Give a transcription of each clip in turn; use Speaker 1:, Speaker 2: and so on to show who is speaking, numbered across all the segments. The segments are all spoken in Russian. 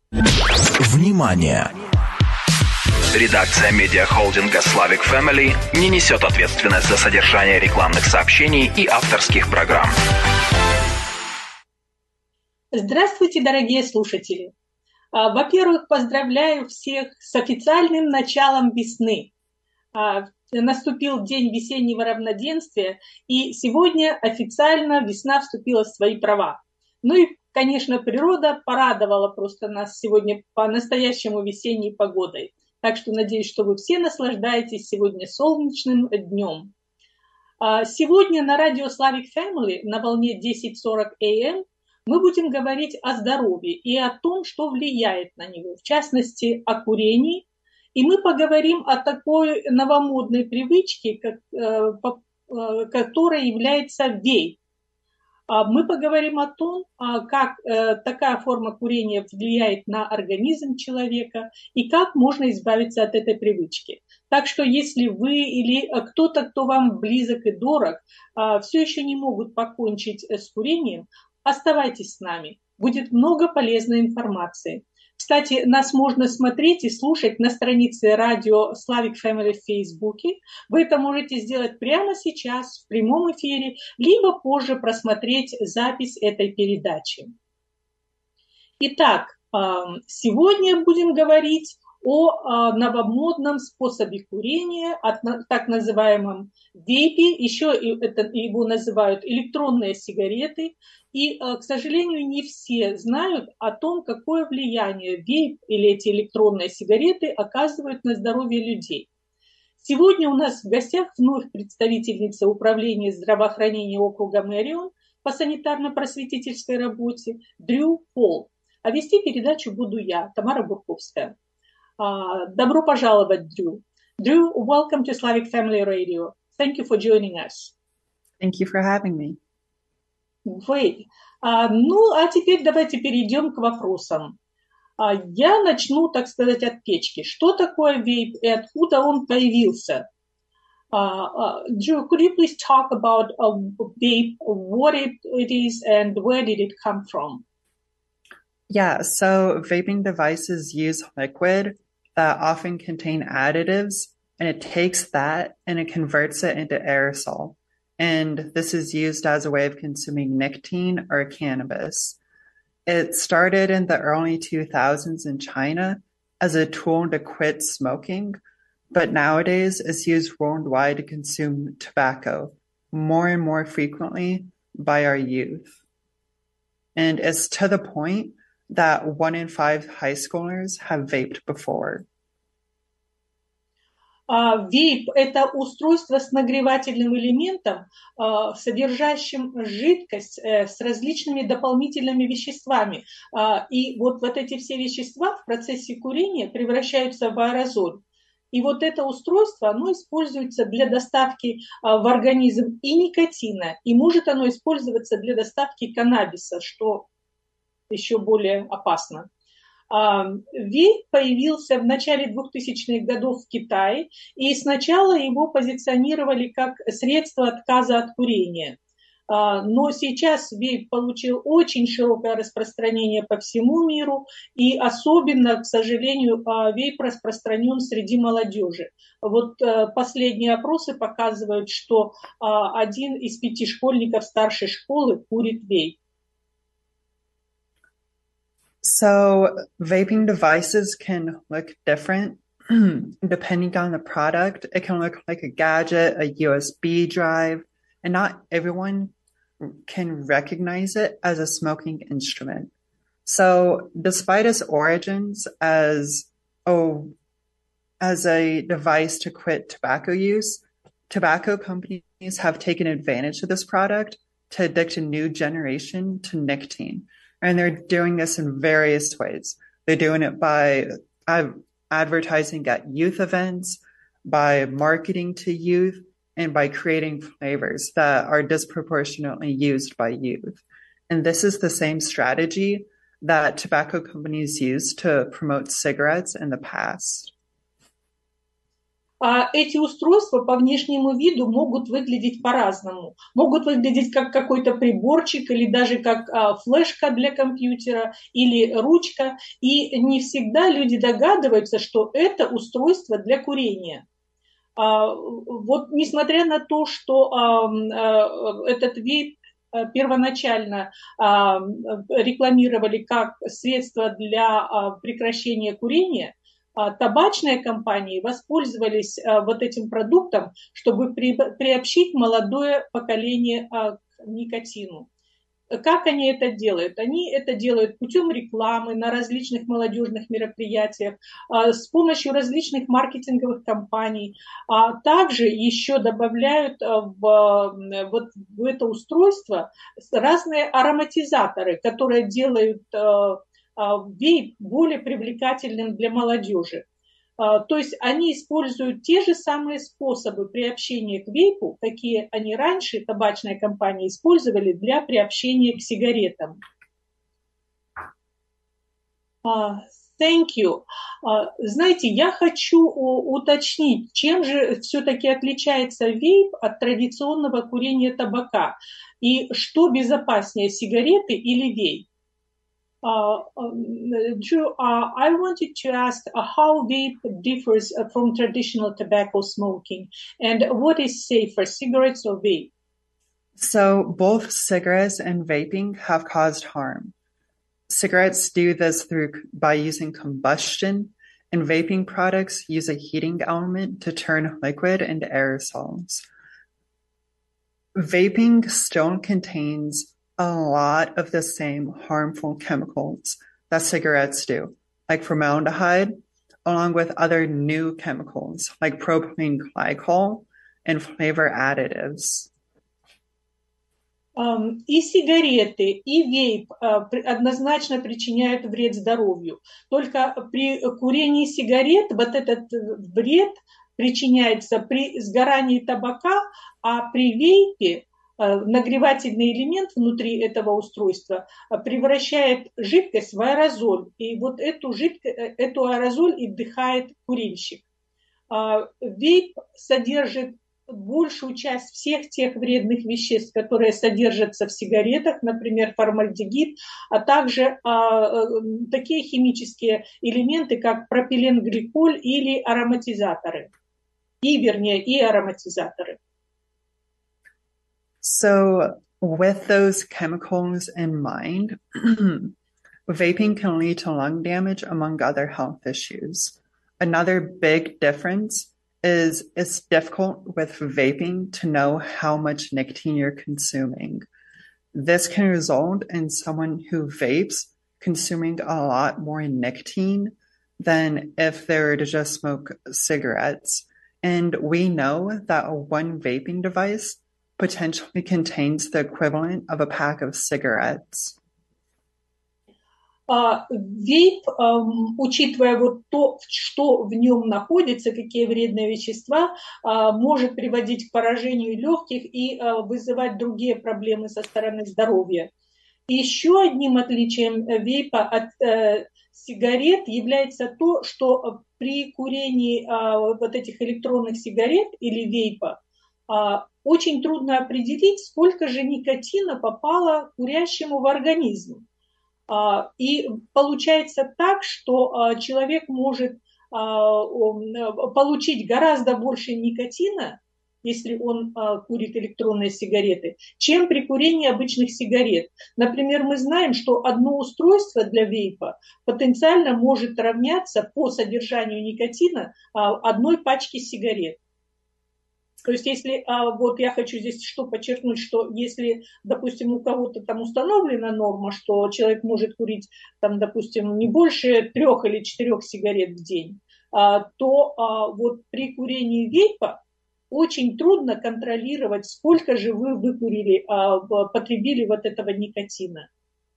Speaker 1: Внимание! Редакция медиахолдинга Slavic Family не несет ответственность за содержание рекламных сообщений и авторских программ.
Speaker 2: Здравствуйте, дорогие слушатели! Во-первых, поздравляю всех с официальным началом весны. Наступил день весеннего равноденствия, и сегодня официально весна вступила в свои права. Ну и, конечно, природа порадовала просто нас сегодня по-настоящему весенней погодой. Так что надеюсь, что вы все наслаждаетесь сегодня солнечным днем. Сегодня на радио Slavic Family на волне 10:40 AM мы будем говорить о здоровье и о том, что влияет на него, в частности, о курении. И мы поговорим о такой новомодной привычке, которой является вейп. Мы поговорим о том, как такая форма курения влияет на организм человека и как можно избавиться от этой привычки. Так что если вы или кто-то, кто вам близок и дорог, все еще не могут покончить с курением, оставайтесь с нами. Будет много полезной информации. Кстати, нас можно смотреть и слушать на странице радио Slavic Family в Фейсбуке. Вы это можете сделать прямо сейчас в прямом эфире, либо позже просмотреть запись этой передачи. Итак, сегодня будем говорить о новомодном способе курения, о так называемом вейпе, еще его называют электронные сигареты. И, к сожалению, не все знают о том, какое влияние вейп или эти электронные сигареты оказывают на здоровье людей. Сегодня у нас в гостях вновь представительница управления здравоохранения округа Мэрион по санитарно-просветительской работе Дрю Пол. А вести передачу буду я, Тамара Бурковская. Добро пожаловать, Дрю. Дрю, welcome to Slavic Family Radio. Thank you for joining us.
Speaker 3: Thank you for having me.
Speaker 2: Great. Ну, а теперь давайте перейдем к вопросам. Я начну, так сказать, от печки. Что такое вейп и откуда он появился? Drew, could you please talk about vape, what it is and where did it come from?
Speaker 3: Yeah, so vaping devices use liquid that often contain additives, and it takes that and it converts it into aerosol. And this is used as a way of consuming nicotine or cannabis. It started in the early 2000s in China as a tool to quit smoking, but nowadays it's used worldwide to consume tobacco more and more frequently by our youth. And it's to the point that 1 in 5 high schoolers have vaped before.
Speaker 2: Вейп – это устройство с нагревательным элементом, содержащим жидкость с различными дополнительными веществами. И вот эти все вещества в процессе курения превращаются в аэрозоль. И вот это устройство, оно используется для доставки в организм и никотина, и может оно использоваться для доставки каннабиса, что еще более опасно. Вейп появился в начале 2000-х годов в Китае, и сначала его позиционировали как средство отказа от курения. Но сейчас вейп получил очень широкое распространение по всему миру, и особенно, к сожалению, вейп распространен среди молодежи. Вот последние опросы показывают, что 1 из 5 школьников старшей школы курит вейп.
Speaker 3: So vaping devices can look different depending on the product. It can look like a gadget, a USB drive, and not everyone can recognize it as a smoking instrument. So despite its origins as a device to quit tobacco use, tobacco companies have taken advantage of this product to addict a new generation to nicotine. And they're doing this in various ways. They're doing it by advertising at youth events, by marketing to youth, and by creating flavors that are disproportionately used by youth. And this is the same strategy that tobacco companies used to promote cigarettes in the past.
Speaker 2: эти устройства по внешнему виду могут выглядеть по-разному. Могут выглядеть как какой-то приборчик или даже как флешка для компьютера или ручка. И не всегда люди догадываются, что это устройство для курения. Вот несмотря на то, что этот вейп первоначально рекламировали как средство для прекращения курения, табачные компании воспользовались вот этим продуктом, чтобы приобщить молодое поколение к никотину. Как они это делают? Они это делают путем рекламы на различных молодежных мероприятиях, с помощью различных маркетинговых кампаний, а также еще добавляют в это устройство разные ароматизаторы, которые делают вейп более привлекательным для молодежи. То есть они используют те же самые способы приобщения к вейпу, какие они раньше, табачные компании, использовали для приобщения к сигаретам. Thank you. Знаете, я хочу уточнить, чем же все-таки отличается вейп от традиционного курения табака? И что безопаснее, сигареты или вейп? Drew, I wanted to ask how vape differs from traditional tobacco smoking, and what is safer, cigarettes or vape?
Speaker 3: So both cigarettes and vaping have caused harm. Cigarettes do this by using combustion, and vaping products use a heating element to turn liquid into aerosols. Vaping still contains a lot of the same harmful chemicals that cigarettes do, like formaldehyde, along with other new chemicals like propylene glycol and flavor additives.
Speaker 2: И сигареты, и вейп однозначно причиняют вред здоровью. Только при курении сигарет вот этот вред причиняется при сгорании табака, а при вейпе нагревательный элемент внутри этого устройства превращает жидкость в аэрозоль. И вот эту аэрозоль и вдыхает курильщик. Вейп содержит большую часть всех тех вредных веществ, которые содержатся в сигаретах, например, формальдегид, а также такие химические элементы, как пропиленгликоль или ароматизаторы. И ароматизаторы.
Speaker 3: So with those chemicals in mind, vaping can lead to lung damage, among other health issues. Another big difference is it's difficult with vaping to know how much nicotine you're consuming. This can result in someone who vapes consuming a lot more nicotine than if they were to just smoke cigarettes. And we know that one vaping device potentially contains the equivalent of a pack of cigarettes.
Speaker 2: Вейп, учитывая вот то, что в нем находится, какие вредные вещества, может приводить к поражению легких и вызывать другие проблемы со стороны здоровья. И еще одним отличием вейпа от сигарет является то, что при курении вот этих электронных сигарет или вейпа очень трудно определить, сколько же никотина попало курящему в организм. И получается так, что человек может получить гораздо больше никотина, если он курит электронные сигареты, чем при курении обычных сигарет. Например, мы знаем, что одно устройство для вейпа потенциально может равняться по содержанию никотина одной пачке сигарет. То есть если, вот я хочу здесь что подчеркнуть, что если, допустим, у кого-то там установлена норма, что человек может курить, там, допустим, не больше 3 или 4 сигарет в день, то вот при курении вейпа очень трудно контролировать, сколько же вы выкурили, потребили вот этого никотина.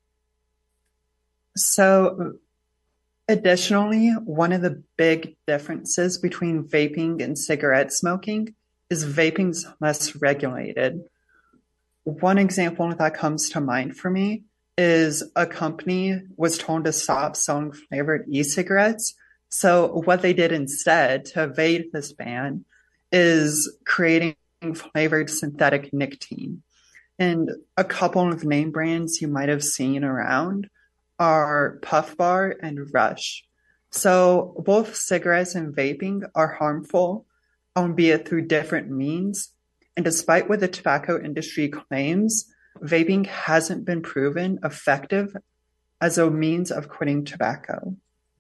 Speaker 3: So, additionally, one of the big differences between vaping and cigarette smoking is vaping's less regulated. One example that comes to mind for me is a company was told to stop selling flavored e-cigarettes So what they did instead to evade this ban is creating flavored synthetic nicotine. And a couple of name brands you might have seen around are Puff Bar and Rush. So both cigarettes and vaping are harmful, albeit through different means. And despite what the tobacco industry claims, vaping hasn't been proven effective as a means of quitting tobacco.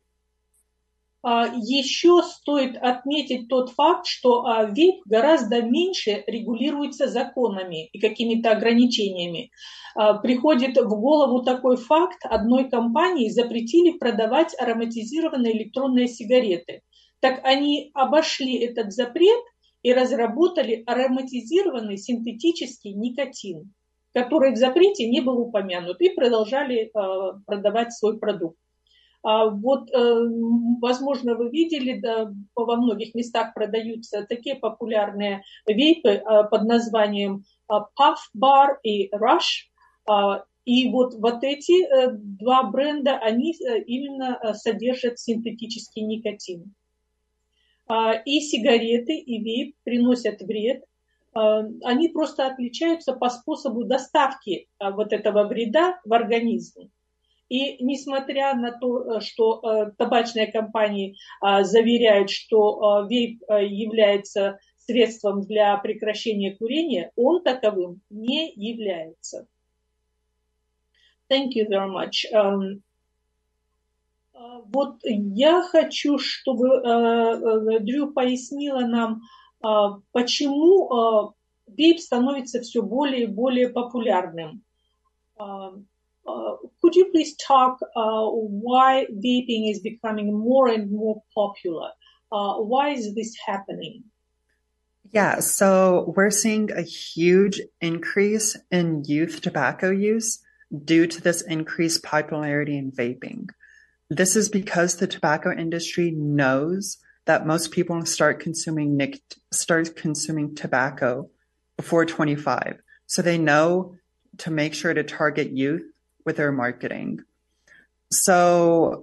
Speaker 2: Еще стоит отметить тот факт, что вейп гораздо меньше регулируется законами и какими-то ограничениями. Приходит в голову такой факт: одной компании запретили продавать ароматизированные электронные сигареты. Так они обошли этот запрет и разработали ароматизированный синтетический никотин, который в запрете не был упомянут, и продолжали продавать свой продукт. Вот, возможно, вы видели, да, во многих местах продаются такие популярные вейпы под названием Puff Bar и Rush. И вот эти два бренда, они именно содержат синтетический никотин. И сигареты, и вейп приносят вред. Они просто отличаются по способу доставки вот этого вреда в организм. И несмотря на то, что табачные компании заверяют, что вейп является средством для прекращения курения, он таковым не является. Thank you very much. Вот я хочу, чтобы Дрю пояснила нам, почему вейп становится все более и более популярным. Could you please talk why vaping is becoming more and more popular? Why is this happening?
Speaker 3: Yeah, so we're seeing a huge increase in youth tobacco use due to this increased popularity in vaping. This is because the tobacco industry knows that most people start consuming tobacco before 25. So they know to make sure to target youth with their marketing. So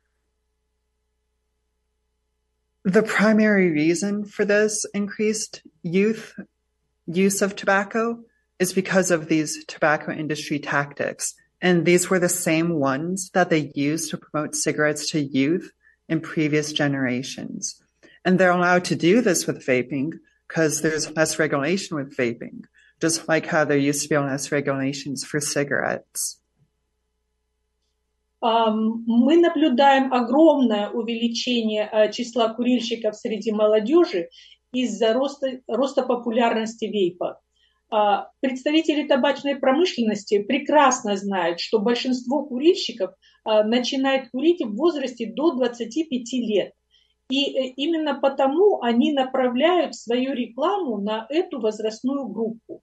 Speaker 3: the primary reason for this increased youth use of tobacco is because of these tobacco industry tactics. And these were the same ones that they used to promote cigarettes to youth in previous generations. And they're allowed to do this with vaping because there's less regulation with vaping, just like how there used to be less regulations for cigarettes.
Speaker 2: Мы наблюдаем огромное увеличение числа курильщиков среди молодежи из-за роста популярности вейпа. Представители табачной промышленности прекрасно знают, что большинство курильщиков начинает курить в возрасте до 25 лет. И именно потому они направляют свою рекламу на эту возрастную группу.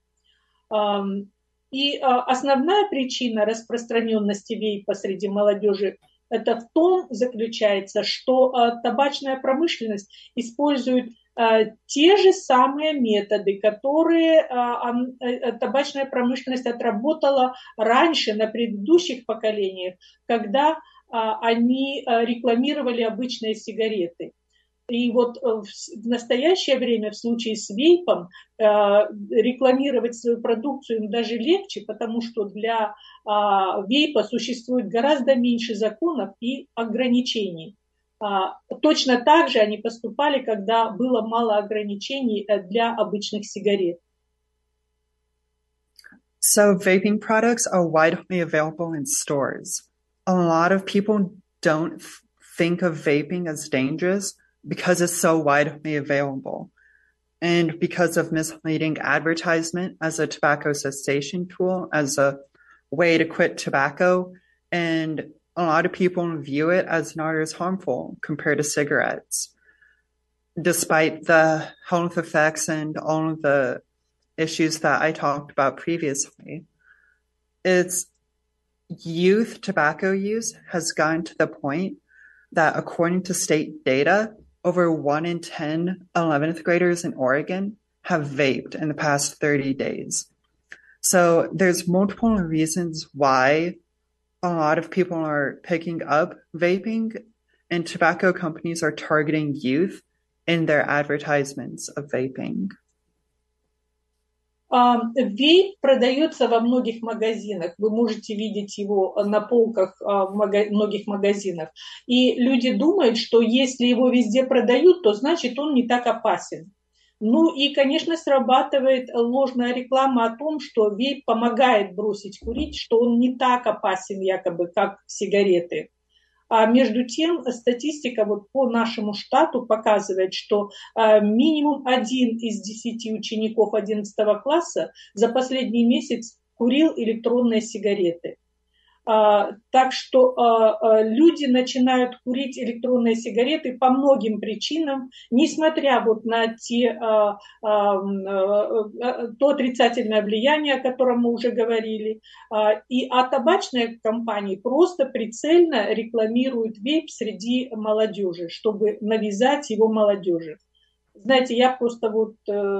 Speaker 2: И основная причина распространенности вейпа среди молодежи это в том заключается, что табачная промышленность использует те же самые методы, которые табачная промышленность отработала раньше на предыдущих поколениях, когда они рекламировали обычные сигареты. И вот в настоящее время в случае с вейпом рекламировать свою продукцию им даже легче, потому что для вейпа существует гораздо меньше законов и ограничений. Точно так же они поступали, когда было мало ограничений для обычных сигарет.
Speaker 3: So vaping products are widely available in stores. A lot of people don't think of vaping as dangerous because it's so widely available and because of misleading advertisement as a tobacco cessation tool, as a way to quit tobacco. And a lot of people view it as not as harmful compared to cigarettes, despite the health effects and all of the issues that I talked about previously. It's youth tobacco use has gotten to the point that, according to state data, over 1 in 10 11th graders in Oregon have vaped in the past 30 days. So there's multiple reasons why a lot of people are picking up vaping, and tobacco companies are targeting youth in their advertisements of vaping.
Speaker 2: Вейп продается во многих магазинах. Вы можете видеть его на полках в многих магазинах. И люди думают, что если его везде продают, то значит он не так опасен. Ну и, конечно, срабатывает ложная реклама о том, что вейп помогает бросить курить, что он не так опасен якобы, как сигареты. А между тем статистика вот по нашему штату показывает, что минимум 1 из 10 учеников 11 класса за последний месяц курил электронные сигареты. Так что люди начинают курить электронные сигареты по многим причинам, несмотря вот на то отрицательное влияние, о котором мы уже говорили. А табачные компании просто прицельно рекламируют вейп среди молодежи, чтобы навязать его молодежи. Знаете, я просто вот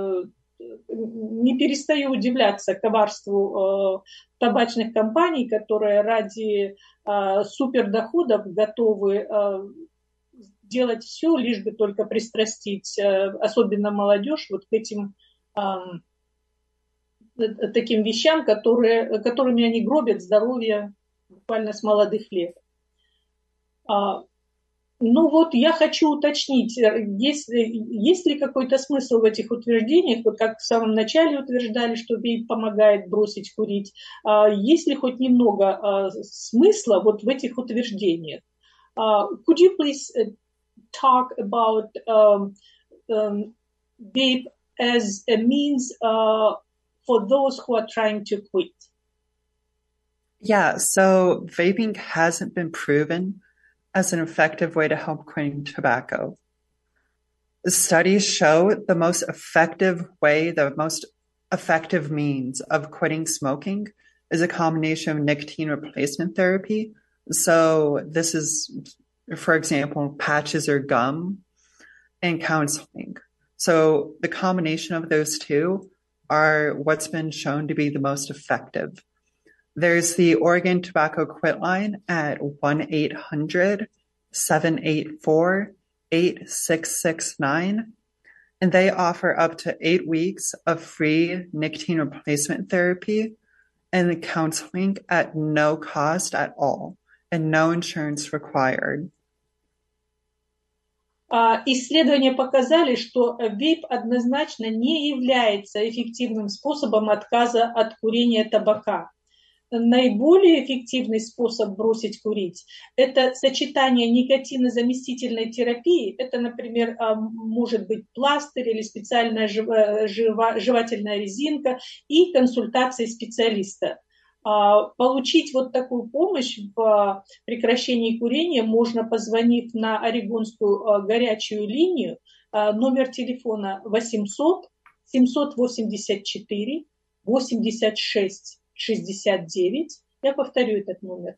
Speaker 2: не перестаю удивляться коварству табачных компаний, которые ради супердоходов готовы делать все, лишь бы только пристрастить, особенно молодежь, вот к этим таким вещам, которыми они гробят здоровье буквально с молодых лет. Ну вот я хочу уточнить, есть ли какой-то смысл в этих утверждениях, вот как в самом начале утверждали, что вейп помогает бросить курить, есть ли хоть немного смысла вот в этих утверждениях? Could you please talk about vape as a means for those who are trying to quit?
Speaker 3: Yeah, so vaping hasn't been proven as an effective way to help quitting tobacco. The studies show the most effective means of quitting smoking is a combination of nicotine replacement therapy. So this is, for example, patches or gum, and counseling. So the combination of those two are what's been shown to be the most effective. There's the Oregon Tobacco Quit line at 1-800-784-8669, and they offer up to 8 weeks of free nicotine replacement therapy and counseling at no cost at all and no insurance required.
Speaker 2: Исследования показали, что вейп однозначно не является эффективным способом отказа от курения табака. Наиболее эффективный способ бросить курить – это сочетание никотинозаместительной терапии. Это, например, может быть пластырь или специальная жевательная резинка и консультации специалиста. Получить вот такую помощь в прекращении курения можно, позвонив на Орегонскую горячую линию, номер телефона 800-784-86-69. Я повторю этот номер.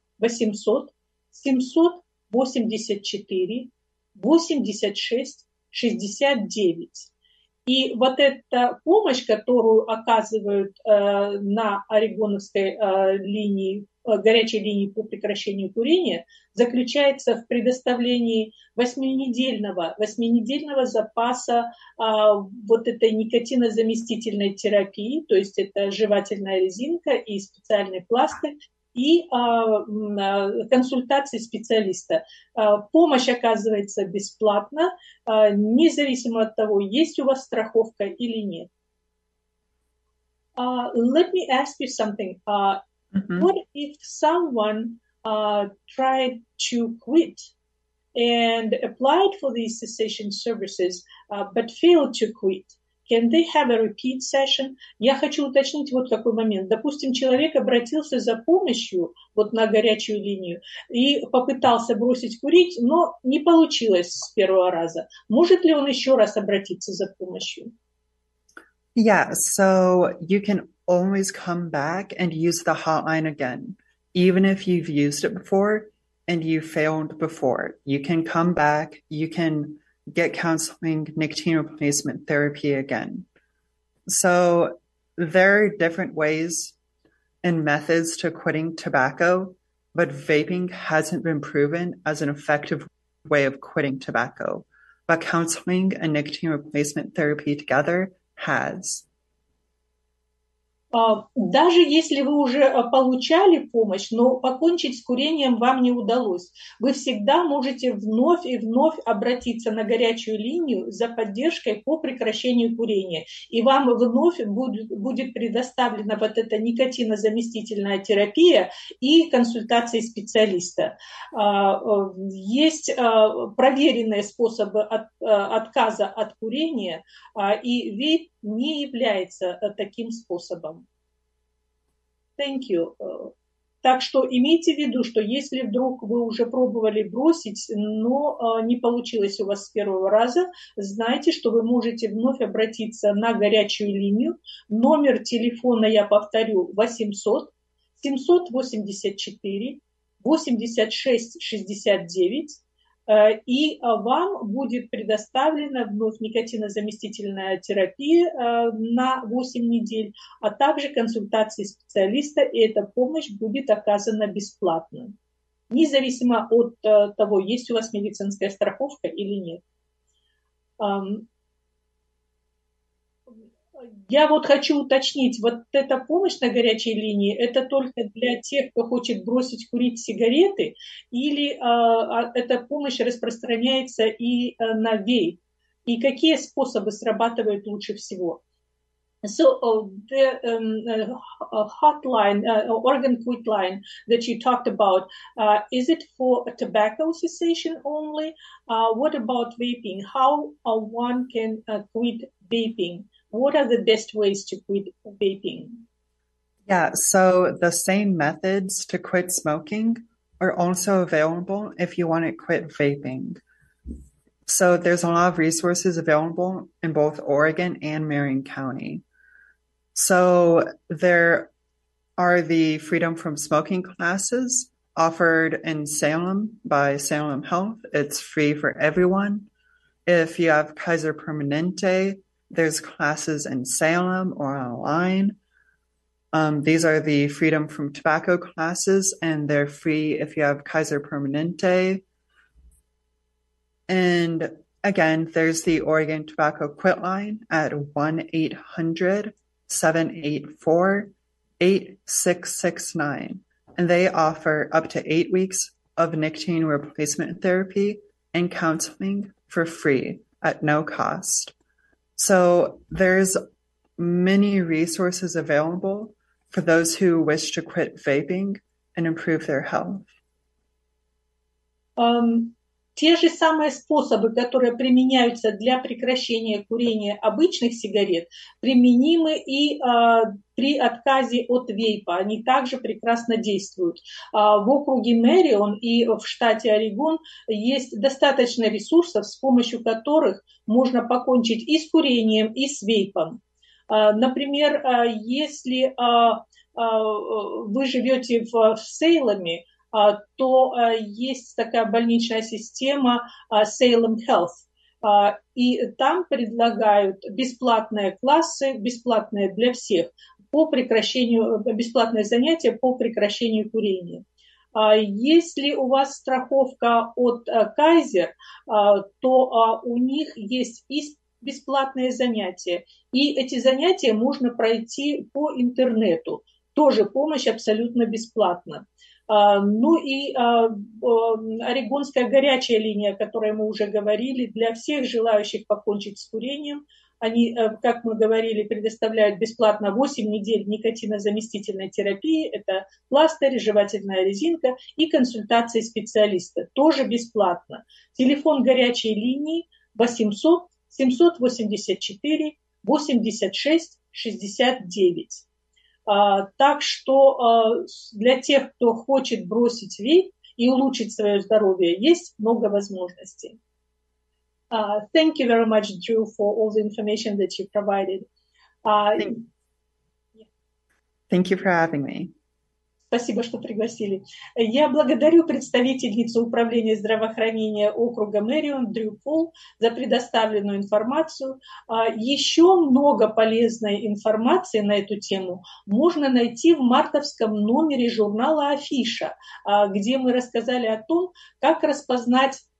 Speaker 2: 800-784-86-69. И вот эта помощь, которую оказывают на Орегоновской линии, горячей линии по прекращению курения, заключается в предоставлении 8-недельного запаса вот этой никотинозаместительной терапии, то есть это жевательная резинка и специальный пластырь, и консультации специалиста. Помощь оказывается бесплатно, независимо от того, есть у вас страховка или нет. Let me ask you something. What if someone tried to quit and applied for these cessation services, but failed to quit? Can they have a repeat session? Я хочу уточнить вот какой момент. Допустим, человек обратился за помощью вот на горячую линию и попытался бросить курить, но не получилось с первого раза. Может ли он еще раз обратиться за помощью?
Speaker 3: Yeah, so you can always come back and use the hotline again, even if you've used it before and you failed before. You can come back, you can get counseling, nicotine replacement therapy again. So there are different ways and methods to quitting tobacco, but vaping hasn't been proven as an effective way of quitting tobacco, but counseling and nicotine replacement therapy together has.
Speaker 2: Даже если вы уже получали помощь, но покончить с курением вам не удалось, вы всегда можете вновь и вновь обратиться на горячую линию за поддержкой по прекращению курения. И вам вновь будет предоставлена вот эта никотинозаместительная терапия и консультации специалиста. Есть проверенные способы отказа от курения, и вейп не является таким способом. Thank you. Так что имейте в виду, что если вдруг вы уже пробовали бросить, но не получилось у вас с первого раза, знайте, что вы можете вновь обратиться на горячую линию. Номер телефона, я повторю, 800 784 86 69. И вам будет предоставлена вновь никотинозаместительная терапия на 8 недель, а также консультации специалиста, и эта помощь будет оказана бесплатно, независимо от того, есть у вас медицинская страховка или нет. Я вот хочу уточнить, вот эта помощь на горячей линии, это только для тех, кто хочет бросить курить сигареты, или эта помощь распространяется и на вейп? И какие способы срабатывают лучше всего? So the hotline, organ quit line that you talked about, is it for tobacco cessation only? What about vaping? How one can quit vaping? What are the best ways to quit vaping?
Speaker 3: Yeah, so the same methods to quit smoking are also available if you want to quit vaping. So there's a lot of resources available in both Oregon and Marion County. So there are the Freedom from Smoking classes offered in Salem by Salem Health. It's free for everyone. If you have Kaiser Permanente, there's classes in Salem or online. These are the Freedom from Tobacco classes, and they're free if you have Kaiser Permanente. And again, there's the Oregon Tobacco Quit line at 1-800-784-8669. And they offer up to 8 weeks of nicotine replacement therapy and counseling for free at no cost. So there's many resources available for those who wish to quit vaping and improve their health.
Speaker 2: Те же самые способы, которые применяются для прекращения курения обычных сигарет, применимы и при отказе от вейпа. Они также прекрасно действуют. В округе Мэрион и в штате Орегон есть достаточно ресурсов, с помощью которых можно покончить и с курением, и с вейпом. Например, если вы живете в Сейлеме, то есть такая больничная система Salem Health, и там предлагают бесплатные классы, бесплатные для всех, по прекращению, бесплатные занятия по прекращению курения. Если у вас страховка от Kaiser, то у них есть и бесплатные занятия, и эти занятия можно пройти по интернету. Тоже помощь абсолютно бесплатна. Ну и орегонская горячая линия, о которой мы уже говорили, для всех желающих покончить с курением. Они, как мы говорили, предоставляют бесплатно 8 недель никотинозаместительной терапии. Это пластырь, жевательная резинка и консультации специалиста. Тоже бесплатно. Телефон горячей линии 800 784 86 69. Так что для тех, кто хочет бросить вейп и улучшить свое здоровье, есть много возможностей. Thank you very much, Drew, for all the information that you provided.
Speaker 3: Thank you for having me.
Speaker 2: Спасибо, что пригласили. Я благодарю представительницу Управления здравоохранения округа Мэрион Дрю Пол за предоставленную информацию. Еще много полезной информации на эту тему можно найти в мартовском номере журнала «Афиша», где мы рассказали о том, как распознать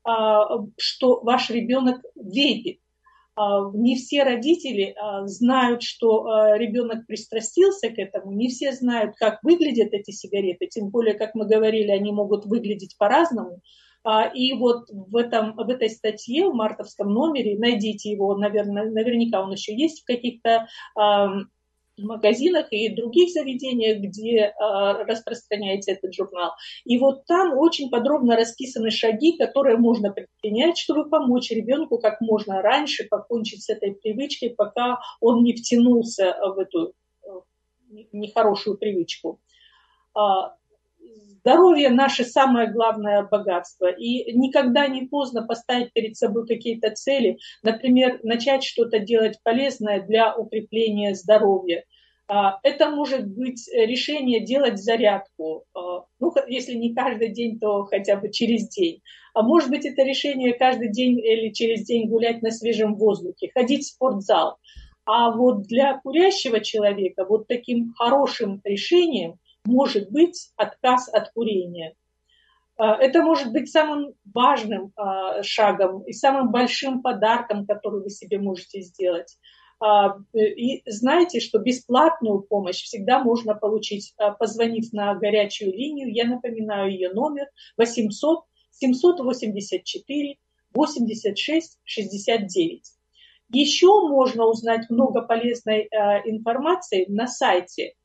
Speaker 2: что ваш ребенок вейпит. Не все родители знают, что ребенок пристрастился к этому, не все знают, как выглядят эти сигареты, тем более, как мы говорили, они могут выглядеть по-разному. И вот в этой статье, в мартовском номере, найдите его, наверняка он еще есть в каких-то магазинах и других заведениях, где распространяется этот журнал. И вот там очень подробно расписаны шаги, которые можно предпринять, чтобы помочь ребенку как можно раньше покончить с этой привычкой, пока он не втянулся в эту нехорошую привычку. Здоровье – наше самое главное богатство. И никогда не поздно поставить перед собой какие-то цели. Например, начать что-то делать полезное для укрепления здоровья. Это может быть решение делать зарядку. Ну, если не каждый день, то хотя бы через день. А может быть, это решение каждый день или через день гулять на свежем воздухе, ходить в спортзал. А вот для курящего человека вот таким хорошим решением может быть отказ от курения. Это может быть самым важным шагом и самым большим подарком, который вы себе можете сделать. И знайте, что бесплатную помощь всегда можно получить, позвонив на горячую линию. Я напоминаю ее номер 800 784 86 69. Еще можно узнать много полезной информации на сайте.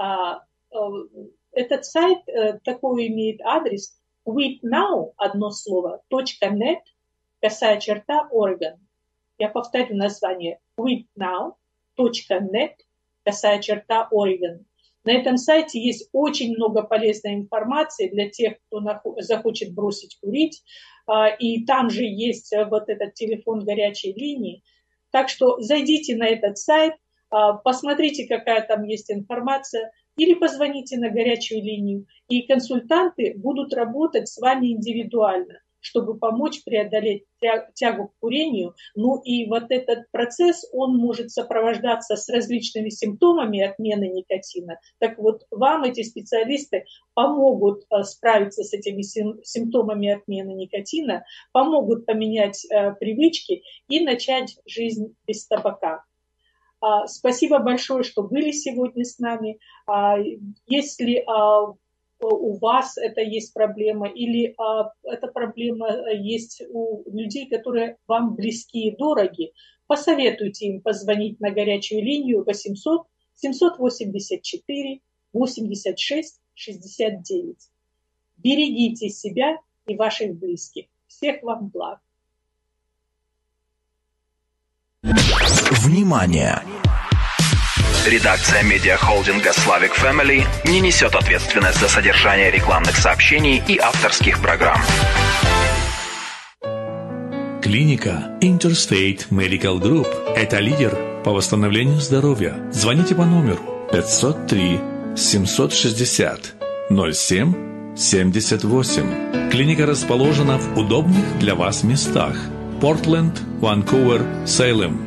Speaker 2: Этот сайт такой имеет адрес quitnow, одно слово, .net, /Oregon. Я повторю название quitnow.net, /Oregon. На этом сайте есть очень много полезной информации для тех, кто захочет бросить курить. И там же есть вот этот телефон горячей линии. Так что зайдите на этот сайт, посмотрите, какая там есть информация, или позвоните на горячую линию, и консультанты будут работать с вами индивидуально, чтобы помочь преодолеть тягу к курению. Ну и вот этот процесс, он может сопровождаться с различными симптомами отмены никотина. Так вот, вам эти специалисты помогут справиться с этими симптомами отмены никотина, помогут поменять привычки и начать жизнь без табака. Спасибо большое, что были сегодня с нами. Если у вас это есть проблема, или эта проблема есть у людей, которые вам близки и дороги, посоветуйте им позвонить на горячую линию 800 784 86 69. Берегите себя и ваших близких. Всех вам благ.
Speaker 1: Внимание! Редакция медиахолдинга Slavic Family не несет ответственность за содержание рекламных сообщений и авторских программ.
Speaker 4: Клиника Interstate Medical Group – это лидер по восстановлению здоровья. Звоните по номеру 503 760 07 78. Клиника расположена в удобных для вас местах: Портленд, Ванкувер, Сейлем.